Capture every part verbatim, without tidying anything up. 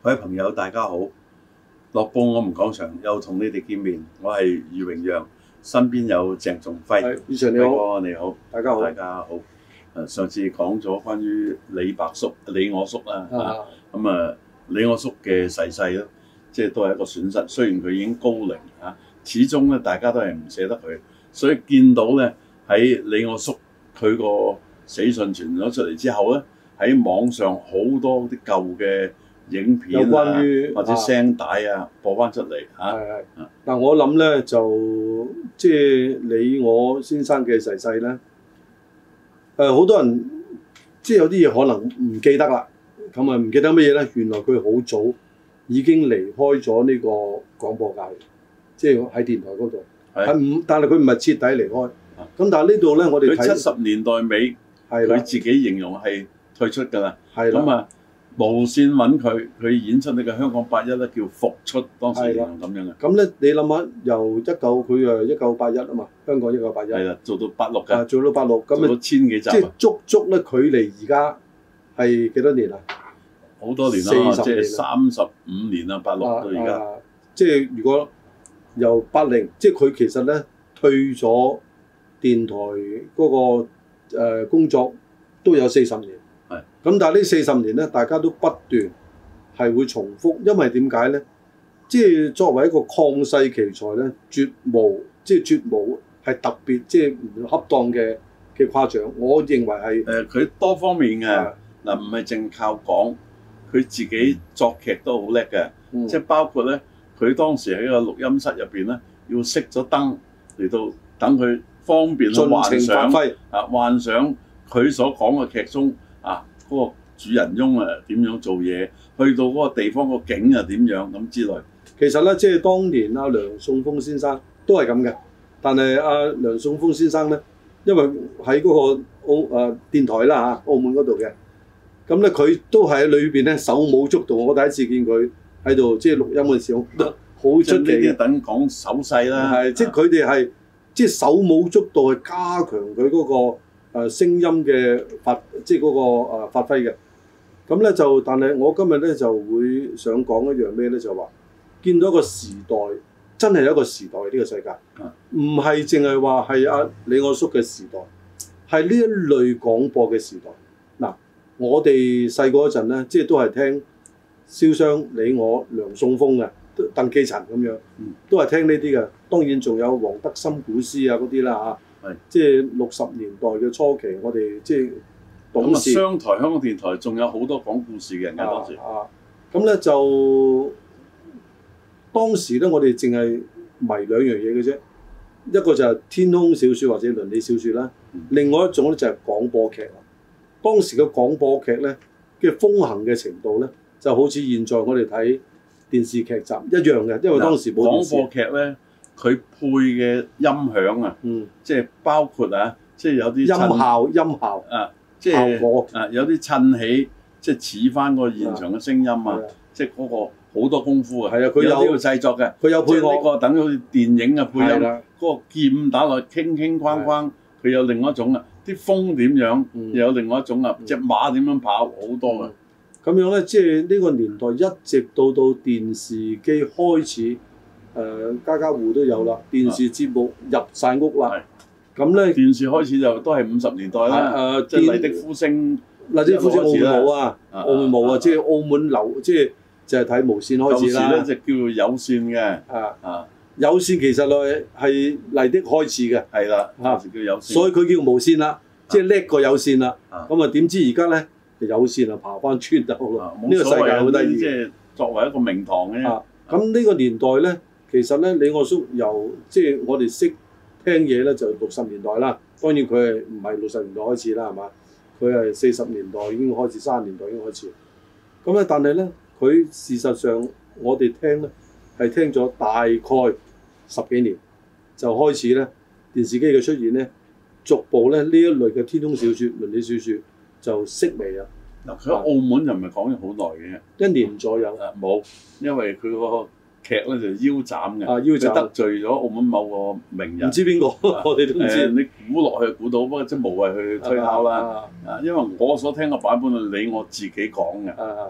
各位朋友，大家好！樂報我們講場又同你哋見面，我係余榮陽，身邊有鄭仲輝。 余 Sir 你好， 你好， 大家好， 大家好。誒，上次講咗關於李白叔、李我叔啦，咁啊，李我叔嘅逝世咧，即係都係一個損失。雖然佢已經高齡嚇，始終咧大家都係唔捨得佢，所以見到咧喺李我叔佢個死訊傳咗出嚟之後咧，喺網上好多啲舊嘅影片啊，關於或者聲帶啊，啊播翻出嚟嚇。係係。 嗱，我諗咧就即係李我先生嘅逝世咧，誒、呃、好多人即係有啲嘢可能唔記得啦。咁啊唔記得乜嘢咧？原來佢好早已經離開咗呢個廣播界，即係喺電台嗰度。係唔？但係佢唔係徹底離開。咁但係呢度咧，我哋睇七十年代尾，佢自己形容係退出㗎啦。係咁啊，無線揾佢，佢演出呢個香港八一咧，叫復出，當時形容咁樣嘅。咁咧， 你諗下，由一九佢誒一九八一啊嘛，香港一九八一。係啦， 做到八六㗎。 做到八六，咁做到千幾集。 即係足足咧，距離而家係幾多年啊？ 好多年啦，即係三十五年啦，八六到而家。 即係如果由八零，即係佢其實咧退咗電台嗰個誒工作都有四十年。係。咁但係呢四十年咧，大家都不斷係會重複，因為點解咧？即係作為一個曠世奇才咧，絕無即係絕無係特別即係唔恰當嘅嘅誇獎。我認為係誒佢多方面嘅嗱，唔係淨靠講。佢自己作劇都好叻嘅，嗯、即係包括咧，佢當時喺個錄音室入邊咧，要熄咗燈嚟到等佢方便去幻想啊，幻想佢所講嘅劇中啊嗰、嗰個主人翁啊點樣做嘢，去到嗰個地方個景啊點樣咁之類。 其實咧，即係當年阿梁送峰先生都係咁嘅，但係阿梁送峰先生咧，因為喺嗰個澳誒、呃、電台啦嚇，澳門嗰度嘅。咁咧，佢都係喺裏邊咧手舞足蹈。我第一次見佢喺度即係錄音嘅時候，都好出奇。 呢啲等講手勢啦， 係即係佢哋係即係手舞足蹈去加強佢嗰個誒聲音嘅發，即係嗰個誒發揮嘅。咁咧就，但係我今日咧就會想講一樣咩咧？就話見到一個時代，真係有一個時代呢個世界，唔係淨係話係阿李我叔嘅時代，係呢一類廣播嘅時代。嗱。我哋細個嗰陣咧，即係都係聽蕭商、李我、梁送峰嘅，鄧寄塵咁樣，都係聽呢啲嘅。當然仲有黃德森古詩啊嗰啲啦嚇，即係六十年代嘅初期，我哋即係董事。 商台、香港電台仲有好多講故事嘅人㗎當時。啊， 咁咧就當時咧，我哋淨係迷兩樣嘢嘅啫，一個就係天空小説或者倫理小説啦，嗯、另外一種咧就係廣播劇。當時嘅廣播劇咧嘅風行嘅程度咧，就好似現在我哋睇電視劇集一樣嘅，因為當時冇電視。廣播劇咧，佢配嘅音響啊，嗯，即係包括啊，即係有啲音效、音效啊，即係效果啊，有啲襯起，即係似翻個現場嘅聲音啊，即係嗰個好多功夫啊。係啊，佢有呢個製作嘅，佢有配樂。呢個等於好似電影嘅配音，嗰個劍打落去，傾傾框框，佢有另一種啊。啲風點樣，嗯、又有另外一種啊！隻、嗯、馬點樣跑，好多嘅。咁樣咧，即係呢個年代一直到到電視機開始，誒、呃、家家戶都有啦。電視節目入晒屋啦。咁咧，電視開始就都係五十年代啦。誒、呃，即係麗的呼聲，麗的呼聲澳門冇啊，澳門冇啊，即係澳門流，即係就係睇無線開始啦。舊時咧就叫做有線嘅。啊啊！有線其實咧係麗的開始嘅，係啦，嗰時叫有線，所以佢叫無線啦，即係叻過有線啦。咁啊點知而家咧有線啊爬翻村頭咯，呢個世界好得意。即係作為一個名堂嘅。咁呢個年代咧，其實咧李我叔由即係我哋識聽嘢咧就六十年代啦。當然佢係唔係六十年代開始啦，係嘛？佢係四十年代已經開始，三十年代已經開始。咁咧，但係咧佢事實上我哋聽咧係聽咗大概十幾年就開始咧，電視機嘅出現咧，逐步咧呢一類嘅天空小説、倫理小説就式微啦。嗱，佢喺澳門就唔係講咗好耐嘅，一年左右。誒冇，因為佢個劇咧就腰斬嘅，啊腰斬得罪咗澳門某個名人，唔知邊個，我哋都唔知。你估落去估到，不過即係無謂去推敲啦。啊，因為我所聽嘅版本係你我自己講嘅。啊啊，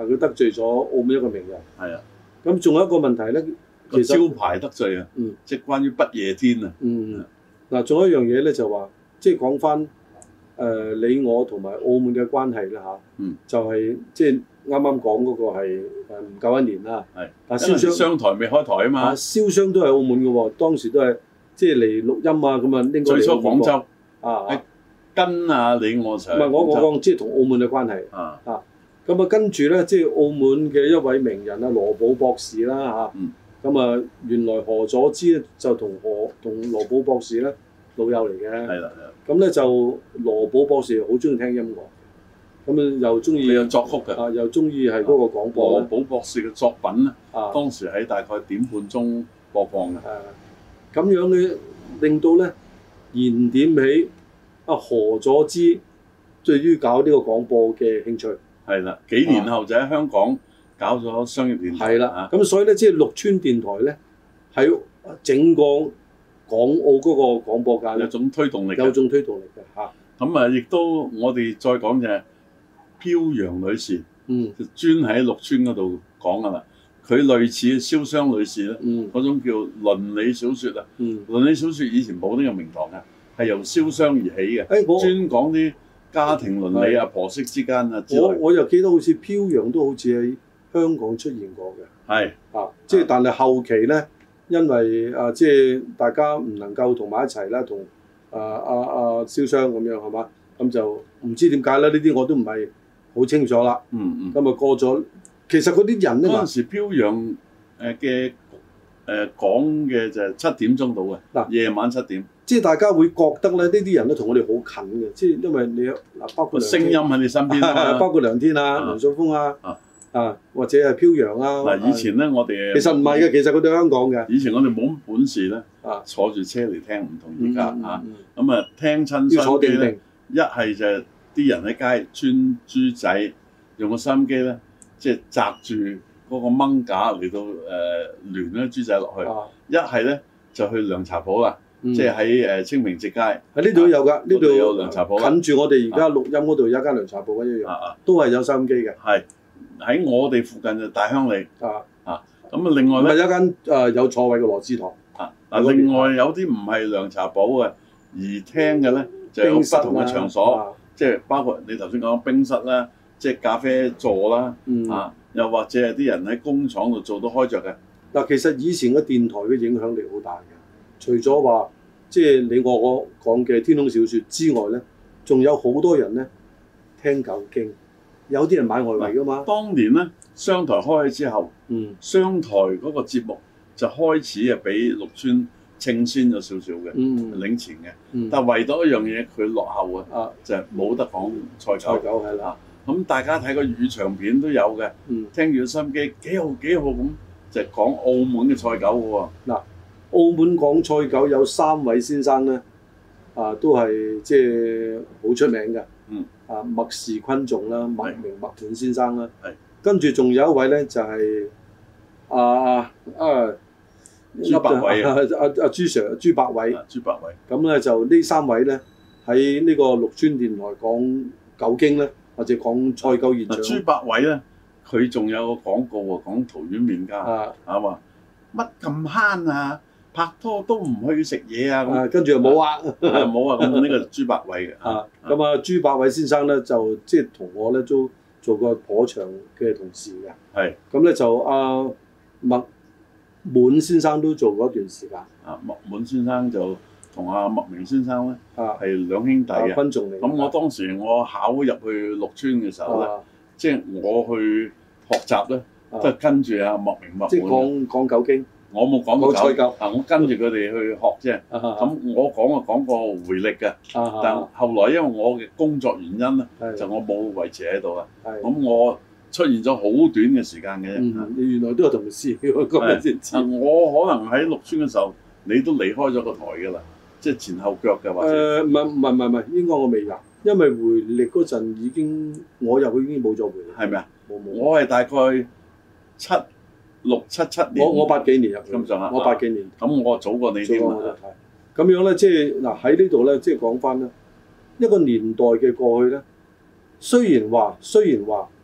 啊，佢得罪咗澳門一個名人。 係啊。 咁仲有一個問題咧，其實招牌得罪啊， 嗯， 即係關於不夜天啊。 嗯，嗱，仲有一樣嘢咧，就話即係講翻誒你我同埋澳門嘅關係啦嚇。嗯。就係即係啱啱講嗰個係誒唔夠一年啦。係。但係燒傷商台未開台啊嘛。燒傷都係澳門嘅喎，當時都係即係嚟錄音啊咁啊，應該最初廣州啊， 跟啊你我上。 唔係我我講即係同澳門嘅關係。啊。啊。咁啊，跟住咧，即係澳門嘅一位名人啊，羅寶博士啦嚇。嗯。咁啊，原來何佐芝咧就同何同羅寶博士咧老友嚟嘅。係啦，係啦。咁咧就羅寶博士好中意聽音樂，咁啊又中意有作曲嘅，啊又中意係嗰個廣播。羅寶博士嘅作品咧，啊當時喺大概點半鐘播放嘅。誒，咁樣嘅令到咧燃點起啊何佐芝對於搞呢個廣播嘅興趣。係啦，幾年後就喺香港搞咗商業電台。係啦，咁所以咧，即係綠邨電台咧，喺整個港澳嗰個廣播界有種推動力，有種推動力嘅嚇。咁啊，亦都我哋再講就係飄揚女士，嗯，就專喺綠邨嗰度講噶啦。佢類似瀟湘女士咧，嗯，嗰種叫倫理小説啊，嗯，倫理小説以前冇呢個名堂嘅，係由瀟湘而起嘅，誒，專講啲家庭倫理啊、婆媳之間啊之類。我我又記得好似飄揚都好似喺香港出現過嘅。係啊，即係但係後期咧，因為啊即係大家唔能夠同埋一齊啦，同啊啊啊瀟湘咁樣係嘛，咁就唔知點解啦。呢啲我都唔係好清楚啦。嗯嗯。咁啊過咗，其實嗰啲人咧嗰陣時飄揚誒嘅誒講嘅就係七點鐘到嘅，嗱夜晚七點。即係大家會覺得咧，呢啲人咧同我哋好近嘅，即係因為你嗱包括聲音喺你身邊啊，包括梁天啊、梁素峰啊，啊或者係飄揚啊。嗱以前咧，我哋其實唔係嘅，其實佢哋香港嘅。以前我哋冇本事咧，坐住車嚟聽，唔同而家啊。咁啊，聽親收音機咧，一係就係啲人喺街穿豬仔，用個收音機咧，即係擲住嗰個掹架嚟到誒聯嗰啲豬仔落去。一係咧就去涼茶鋪啦。即係喺誒清明節街，喺呢度有㗎，呢度有涼茶鋪，近住我哋而家錄音嗰度有一間涼茶鋪一樣，都係有收音機嘅。係喺我哋附近就大鄉里啊啊，咁啊另外咧，有一間誒有座位嘅羅斯堂啊。嗱另外有啲唔係涼茶鋪嘅，而聽嘅咧就有不同嘅場所，即係包括你頭先講冰室啦，即係咖啡座啦啊，又或者係啲人喺工廠度做到開着嘅。嗱其實以前嘅電台嘅影響力好大嘅。除咗話即係你我我講嘅天空小説之外咧，仲有好多人咧聽舊經，有啲人買外圍㗎嘛。當年咧商台開咗之後，嗯，商台嗰個節目就開始啊比綠邨稱先咗少少嘅，嗯，領前嘅。嗯、但係唯獨一樣嘢佢落後啊，就係冇得講賽狗。賽狗係啦。咁大家睇個粵長片都有嘅，嗯，聽住收音機幾號幾號咁，就係講澳門嘅賽狗嘅喎。嗱。澳門講賽狗有三位先生咧，啊都係即係好出名嘅。嗯。啊麥氏昆仲啦，麥明麥滿先生啦。係。跟住仲有一位咧就係啊啊朱百偉啊，阿阿朱 Sir 朱百偉。朱百偉。咁咧就呢三位咧喺呢個綠邨電台講狗經咧，或者講賽狗現象。朱百偉咧，佢仲有個廣告喎，講桃園麵家啊，啊話乜咁慳啊！拍拖都唔去食嘢啊！咁跟住又冇啊，冇啊！咁呢個朱百偉嘅啊，咁啊朱百偉先生咧就即係同我咧都做過頗長嘅同事嘅。係。咁咧就阿麥滿先生都做過一段時間。啊，麥滿先生就同阿麥明先生咧係兩兄弟嘅。昆仲嚟。咁我當時我考入去綠邨嘅時候咧，即係我去學習咧，都係跟住阿麥明麥滿。即係講講狗經。我冇講過賽狗，啊！我跟住佢哋去學啫。咁我講啊講過回力嘅，但後來因為我嘅工作原因咧，就我冇維持喺度啦。咁我出現咗好短嘅時間嘅啫。你原來都有同事喎，今日先知。我可能喺綠邨嘅時候，你都離開咗個台㗎啦，即係前後腳嘅或者。誒唔係唔係唔係唔係，應該我未入，因為回力嗰陣已經我入去已經冇咗回力。係咪啊？冇冇。我係大概七。六七七年，我我八幾年入去，咁上下，我八幾年，咁我早過你添啊。咁樣咧，即係嗱喺呢度咧，即係講翻咧，一個年代嘅過去咧，雖然話雖然話，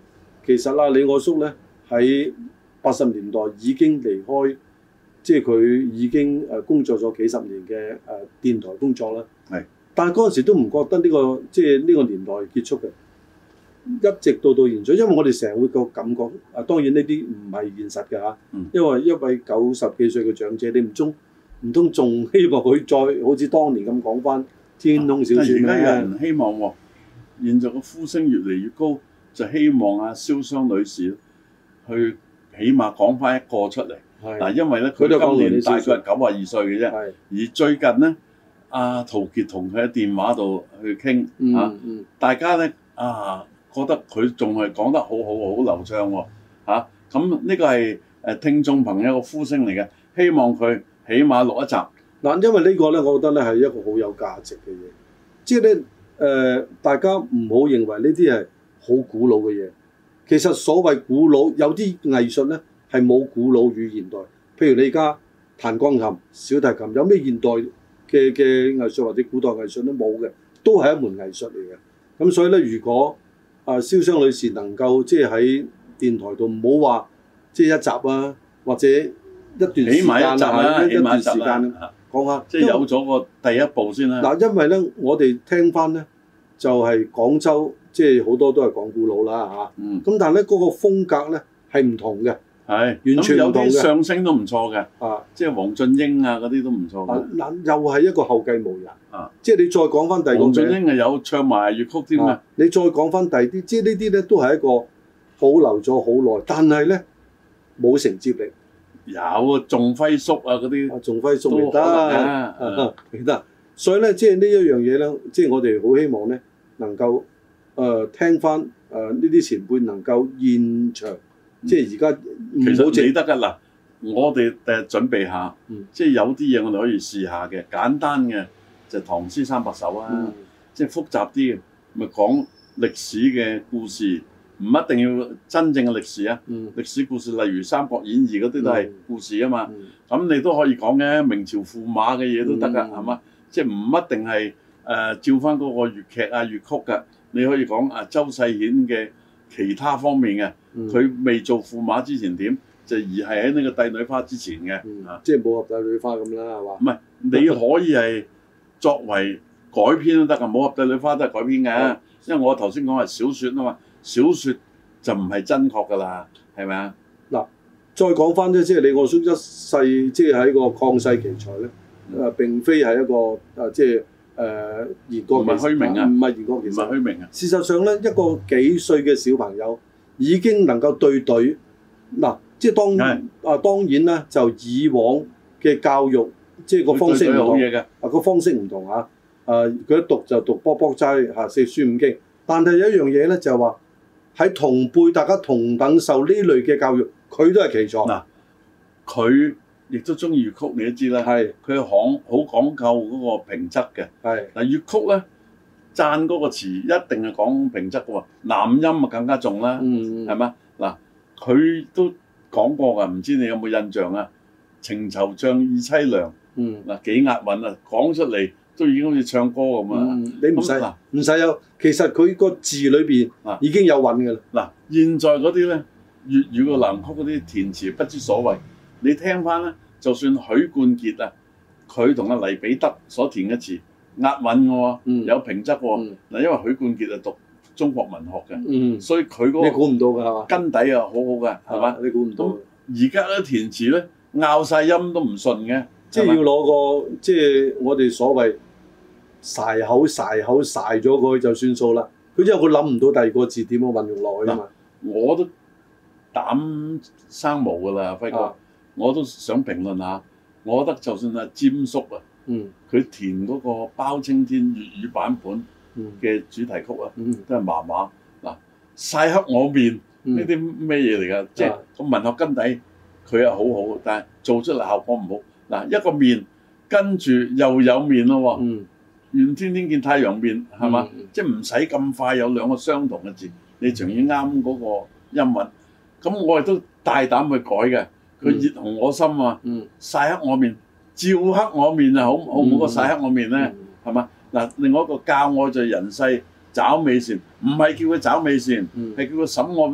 其實啊，李我叔咧喺八十年代已經離開，即係佢已經誒工作咗幾十年嘅誒電台工作啦。 係， 但係嗰陣時都唔覺得呢個即係呢個年代結束嘅，一直到到現在，因為我哋成日會個感覺啊，當然呢啲唔係現實嘅嚇， 嗯、因因為一位九十幾歲嘅長者，你唔中唔通仲希望佢再好似當年咁講翻天空小説咩？ 而家有人希望喎，現在個呼聲越嚟越高，就希望阿蕭湘女士去起碼講翻一個出嚟。嗱，因為咧佢今年大概係九十二歲嘅啫，而最近咧，阿陶傑同佢喺電話度去傾嚇，嗯嗯、大家咧啊覺得佢仲係講得好好好流暢喎嚇，咁呢個係誒聽眾朋友個呼聲嚟嘅，希望佢起碼錄一集。 嗱，因為呢個咧，我覺得咧係一個好有價值嘅嘢，即係咧誒，大家唔好認為呢啲係好古老嘅嘢。其實所謂古老，有啲藝術咧係冇古老與現代。譬如你而家彈鋼琴、小提琴，有咩現代嘅嘅藝術或者古代藝術都冇嘅，都係一門藝術嚟嘅。咁所以咧，如果啊蕭湘女士能夠即係喺電台度唔好話即係一集啊，或者一段時間啊，一段時間講下， 即係有咗個第一步先啦。 嗱，因為咧，我哋聽翻咧就係、是、廣州，即係好多都係講古老啦嚇。咁、嗯、但係咧嗰個風格咧係唔同嘅，係是完全唔同嘅。 有啲相聲都唔錯嘅，啊，即係黃俊英啊嗰啲都唔錯嘅。 嗱、啊，又係一個後繼無人。啊，即係你再講翻第二個名，黃俊英係有唱埋粵曲添啊。 你再講翻第二啲，即係呢啲咧都係一個保留咗好耐，但係咧冇承接力。 有啊，仲輝叔啊嗰啲， 仲輝叔都得，記得。所以咧，即係呢一樣嘢咧，即係我哋好希望咧，能夠誒聽翻誒呢啲前輩能夠現場，即係而家其實你得㗎嗱，我哋第日準備下，即係有啲嘢我哋可以試下嘅，簡單嘅就唐詩三百首啊，即係複雜啲嘅咪講歷史嘅故事。唔一定要真正嘅歷史啊，嗯、歷史故事例如《三國演義》嗰啲都係故事啊嘛。咁、嗯、你都可以講嘅明朝駙馬嘅嘢都得㗎，係嘛、嗯？即係唔一定係誒、呃、照翻嗰個粵劇啊粵曲㗎。你可以講啊周世顯嘅其他方面嘅，佢、嗯、未做駙馬之前點，就而係喺呢個帝女花之前嘅， 嗯啊、即係武俠帝女花咁啦，係嘛？ 唔係你可以係作為改編都得㗎，武俠帝女花都係改編嘅，嗯、因為我頭先講係小説啊嘛。小説就唔係真確㗎啦，係咪啊？嗱， 再講翻啫，即係李我叔一世，即係喺個曠世奇才咧，誒、嗯呃、並非係一個誒、呃、即係誒言過其實，唔係虛名啊，唔係言過其實，唔係虛名啊。事實上咧，一個幾歲嘅小朋友已經能夠對對，嗱、呃，即係當是啊當然啦，就以往嘅教育，即係個方式唔同，啊個方式唔同啊，誒佢一讀就讀卜卜齋嚇四書五經，但係有一樣嘢咧就係話。喺同輩，大家同等受呢類嘅教育，佢都係奇才。嗱， 佢亦都中意粵曲，你都知啦。係，佢講好講究嗰個平仄嘅。係，嗱粵曲咧，讚嗰個詞一定係講平仄嘅喎，南音啊更加重啦。嗯嗯。係嘛？嗱，佢都講過㗎，唔知你有冇印象啊？情惆悵意凄涼。嗯。嗱幾押韻啊，講出嚟。都已經好似唱歌咁啊！ 你唔使唔使有，其實佢個字裏邊已經有韻㗎啦。 嗱，現在嗰啲咧粵語個南曲嗰啲填詞不知所謂，你聽翻咧，就算許冠傑啊，佢同阿黎彼得所填嘅詞押韻嘅喎，有平仄喎。嗱，因為許冠傑係讀中國文學嘅，所以佢嗰個你估唔到㗎係嘛？根底啊好好㗎係嘛？你估唔到。而家咧填詞咧拗晒音都唔順嘅， 即係要攞個即係我哋所謂。曬口曬口曬咗佢就算數啦。佢因為佢諗唔到第二個字點樣運用落去啊嘛。 我都膽生毛㗎啦，輝哥。啊、我都想評論下。我覺得就算阿詹叔啊，佢、嗯、填嗰個包青天粵語版本嘅主題曲啊，嗯、都係麻麻。嗱，曬黑我面呢啲咩嘢嚟㗎？嗯、即係個文學根底佢係好好，但係做出嚟效果唔好。嗱，一個面跟住又有面咯喎。嗯願天天見太陽面係嘛？嗯、即係唔使咁快有兩個相同嘅字，你仲要啱嗰個音韻。咁我亦都大膽去改嘅。佢熱紅我心啊，嗯、曬黑我面，照黑我面啊，好好唔好過曬黑我面咧？係嘛？嗱，另外一個教我在人世找美善，唔係叫佢找美善，係、嗯、叫佢審我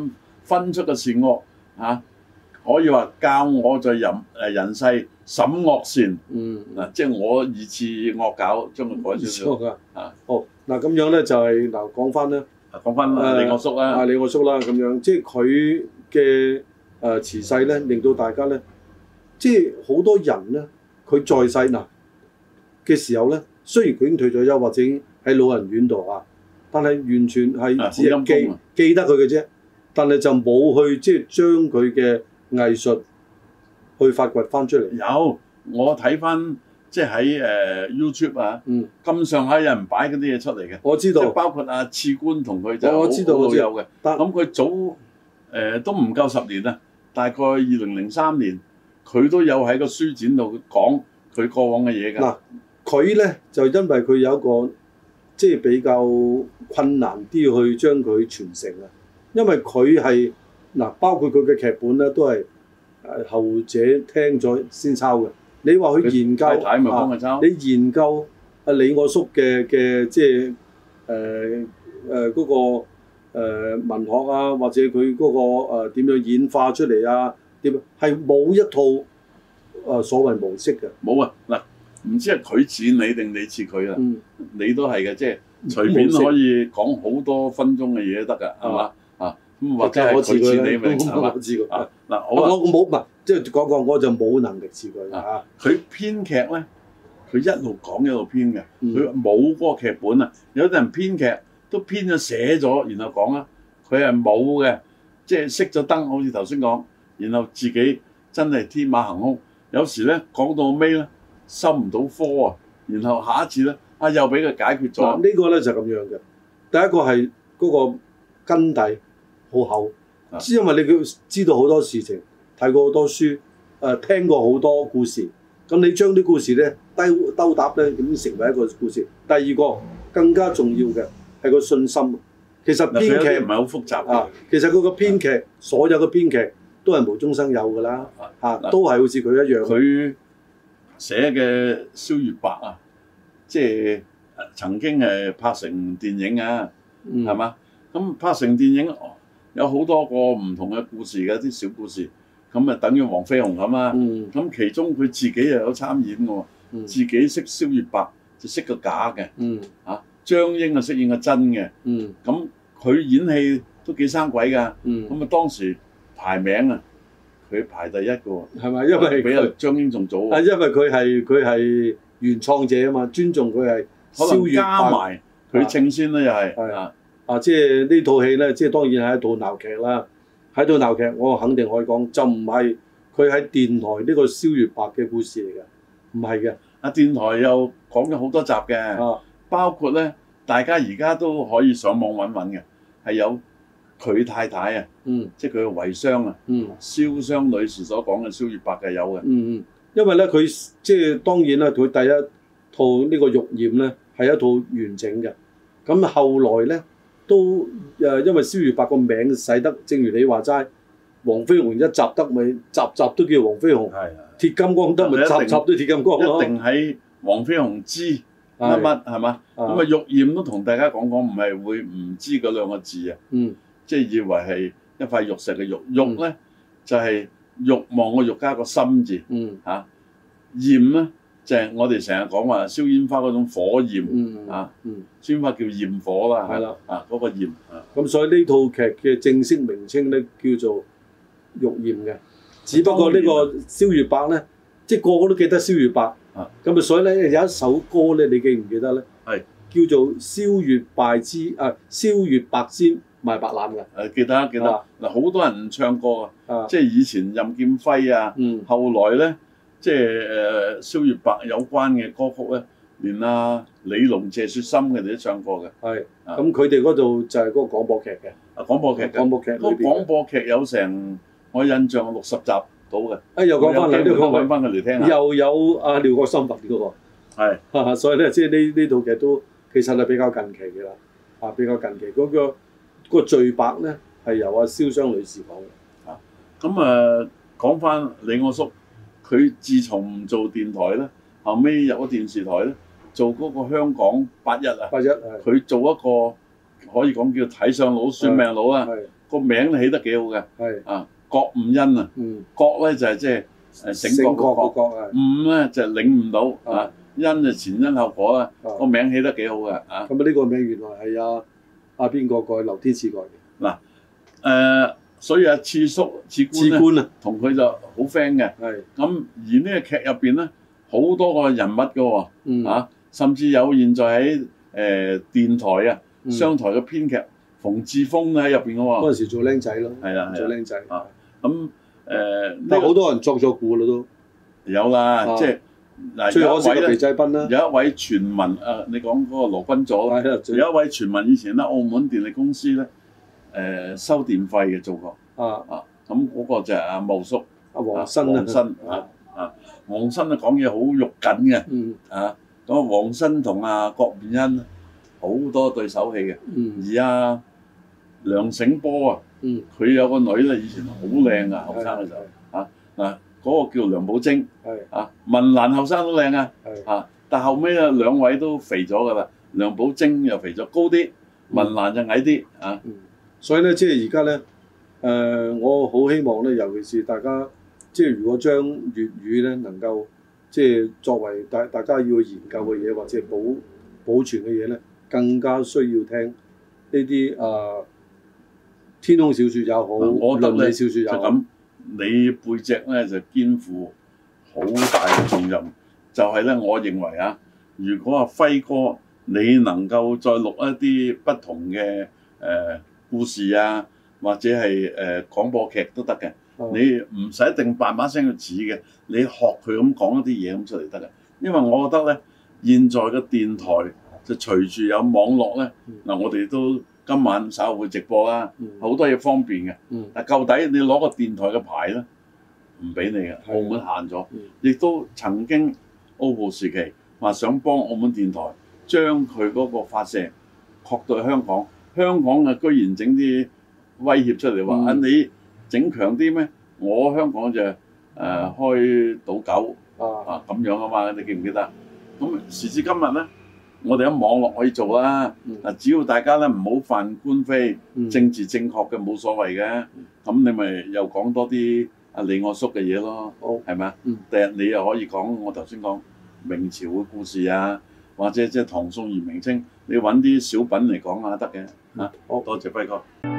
分出個善惡嚇、啊，可以話教我在人誒人世審惡善。嗯，嗱、啊，即係我二次惡搞將佢改少少。啊， 好嗱，咁樣咧就係嗱講翻咧， 講翻啊李我叔啦， 啊李我叔啦咁樣，即係佢嘅誒辭世咧，令到大家咧，即係好多人咧，佢在世嗱嘅時候咧，雖然佢已經退咗休或者喺老人院度啊，但係完全係只係記記得佢嘅啫，但係就冇去即係將佢嘅藝術去發掘翻出嚟。 有我睇翻。即係喺誒 YouTube 啊，咁、嗯、上下有人擺嗰啲嘢出嚟嘅， 我知道， 即係包括阿次官同佢就我知道好老友嘅。 咁佢早誒、呃、都唔夠十年啦，大概二零零三年，佢都有喺個書展度講佢過往嘅嘢㗎。嗱， 佢咧就因為佢有一個即係、就是、比較困難啲去將佢傳承啊，因為佢係嗱，包括佢嘅劇本咧都係誒後者聽咗先抄嘅。你話去研究太太啊？ 你研究阿李我叔嘅嘅即係誒誒嗰個、呃、文學啊，或者佢嗰、那個誒點、呃、樣演化出嚟啊？點係冇一套誒、呃、所謂模式嘅。 冇啊！嗱，唔知係佢似你定你似佢啊？嗯、你都係嘅，即係隨便可以講好多分鐘嘅嘢都得㗎，係嘛？啊咁或者係佢似你咪係嘛？啊嗱， 我我冇唔係即係講講，我就冇能力似佢啊！ 佢編劇咧，佢一路講一路編嘅，佢冇嗰個劇本啊！有啲人編劇都編咗寫咗，然後講啊，佢係冇嘅，即係熄咗燈，好似頭先講，然後自己真係天馬行空。有時咧講到尾咧收唔到科啊，然後下一次咧啊又俾佢解決咗。 啊這個、呢個咧就咁、是、樣嘅。第一個係嗰個根底好厚，只、啊、因為你佢知道好多事情。睇過好多書，誒、呃、聽過好多故事，咁你將啲故事咧兜兜搭咧，咁成為一個故事。第二個更加重要嘅係個信心。其實編劇唔係好複雜啊。其實佢個編劇，啊、所有嘅編劇都係無中生有㗎啦，嚇、啊、都係好似佢一樣。 佢寫嘅《蕭月白》啊，即係曾經係拍成電影啊，係嘛、嗯？咁拍成電影有好多個唔同嘅故事嘅，啲小故事。咁啊，等於黃飛鴻咁啊！咁、嗯、其中佢自己又有參演喎，嗯、自己識蕭月白就識個假嘅， 嗯、 啊張英啊飾演個真嘅，咁佢、嗯、演戲都幾生鬼㗎，咁啊、嗯、當時排名啊，佢排第一個喎， 係咪？因為比阿張英仲早喎， 啊，因為佢係佢係原創者啊嘛，尊重佢係蕭月白加埋佢稱先啦，又係係啊啊！即係呢套戲咧，即係當然係一套鬧劇啦。喺度鬧劇，我肯定可以講，就唔係佢喺電台呢個蕭月白嘅故事嚟嘅，唔係嘅。啊， 電台又講咗好多集嘅，啊、包括咧，大家而家都可以上網揾揾嘅，係有佢太太啊， 嗯， 即係佢嘅遺孀啊，嗯，蕭湘女士所講嘅蕭月白嘅有嘅， 嗯嗯，因為咧佢即係當然啦，佢第一套呢個玉簷咧係一套完整嘅，咁後來咧。都誒，因為蕭月白個名使得，正如你話齋，黃飛鴻一集得咪集集都叫黃飛鴻， 係鐵金剛得咪集集都鐵金剛咯。 一定喺黃飛鴻知乜乜係嘛？咁啊玉簷都同大家講講，唔係會唔知嗰兩個字啊？ 嗯， 即係以為係一塊玉石嘅玉，玉咧就係欲望嘅欲加個心字， 嗯嚇，簷咧。就係我哋成日講話燒煙花嗰種火焰、 嗯、 啊， 嗯、 燒煙花叫焰火啦， 係啦， 啊嗰、那個焰， 咁所以呢套劇嘅正式名稱咧叫做玉簷嘅，只不過個呢個蕭月白咧，即係個個都記得蕭月白，咁啊所以咧有一首歌咧，你記唔記得咧？ 係是叫做蕭月白之啊，蕭月白之賣白欖嘅， 誒記得記得，嗱好、啊、多人唱歌啊，即係以前任劍輝啊， 嗯、 後來咧。即係誒蕭月白有關嘅歌曲咧，連阿李龍、謝雪心佢哋都唱過嘅。 係，咁佢哋嗰度就係嗰個廣播劇嘅。 啊，廣播劇嘅。廣播劇。嗰個廣播劇有成我印象六十集到嘅。啊， 又講翻嚟，都揾翻佢嚟聽下。 又有阿廖國森拍嘅喎。係。所以咧，即係呢呢套劇都其實係比較近期嘅啦。啊，比較近期嗰個嗰個序白咧係由阿蕭湘女士講嘅。 啊，咁誒講翻李我叔。佢自從唔做電台咧，後尾入咗電視台咧，做嗰個香港八一啊， 八一佢做一個可以講叫睇相佬、算命佬啊。個名都起得幾好嘅。係啊，郭兀恩啊。嗯。郭咧就係即係誒醒覺個郭，兀咧就係領悟到啊，恩就前因後果啦。個名起得幾好嘅啊。咁啊，呢個名原來係阿阿邊個改？劉天賜改嘅。嗱誒，所以阿次叔、次官咧，同佢就好 friend 嘅。係。咁而呢個劇入邊咧，好多個人物㗎喎。嗯。啊，甚至有現在喺誒電台啊、商台嘅編劇馮志峰喺入邊嘅喎。嗰陣時做僆仔咯。係啊，做僆仔。啊。咁誒，但好多人作咗古啦都。有啦，即係嗱，有一位咧，有一位傳聞啊，你講嗰個羅君佐，有一位傳聞以前咧，澳門電力公司咧誒收電費嘅做過。啊啊，咁嗰個就係阿茂叔，阿黃新黃新啊啊，黃新啊講嘢好肉緊嘅。嗯。啊，咁啊黃新同阿郭兀恩好多對手戲嘅。嗯。而阿梁醒波啊。嗯，佢有個女咧，以前好靚啊，後生嘅時候啊，嗱嗰個叫梁寶貞，係啊，文蘭後生都靚啊，係啊，但後尾啊兩位都肥咗噶啦，梁寶貞又肥咗高啲，文蘭就矮啲啊，所以咧即係而家咧，誒我好希望咧，尤其是大家即係如果將粵語咧能夠即係作為大大家要研究嘅嘢或者保保存嘅嘢咧，更加需要聽呢啲啊。天空小説也好，倫理小説也好，就咁你背脊咧就肩負好大嘅重任。就係咧，我認為啊，如果阿輝哥你能夠再錄一啲不同嘅誒、呃、故事啊，或者係誒、呃、廣播劇都得嘅。嗯、你唔使一定扮把聲去似嘅，你學佢咁講一啲嘢咁出嚟得嘅。因為我覺得咧，現在嘅電台就隨住有網絡咧，嗱、嗯、我哋都。今晚稍後會直播啦，好、嗯、多嘢方便嘅。嗯、但究底你攞個電台嘅牌咧，唔俾你嘅，澳門限咗。亦、嗯、都曾經澳葡時期話想幫澳門電台將佢嗰個發射擴到香港，香港啊居然整啲威脅出嚟話、嗯、啊你整強啲咩？我香港就誒、呃、開賭九啊咁樣啊嘛，你記唔記得？咁時至今日咧。我哋喺網絡可以做啦，嗱、嗯、只要大家咧唔好犯官非，嗯、政治正確嘅冇所謂嘅，咁、嗯、你咪又講多啲阿李我叔嘅嘢咯，係咪啊？第日你又可以講我頭先講明朝嘅故事啊，或者即係唐宋元明清，你揾啲小品嚟講下得嘅，嚇、嗯，好多謝輝哥。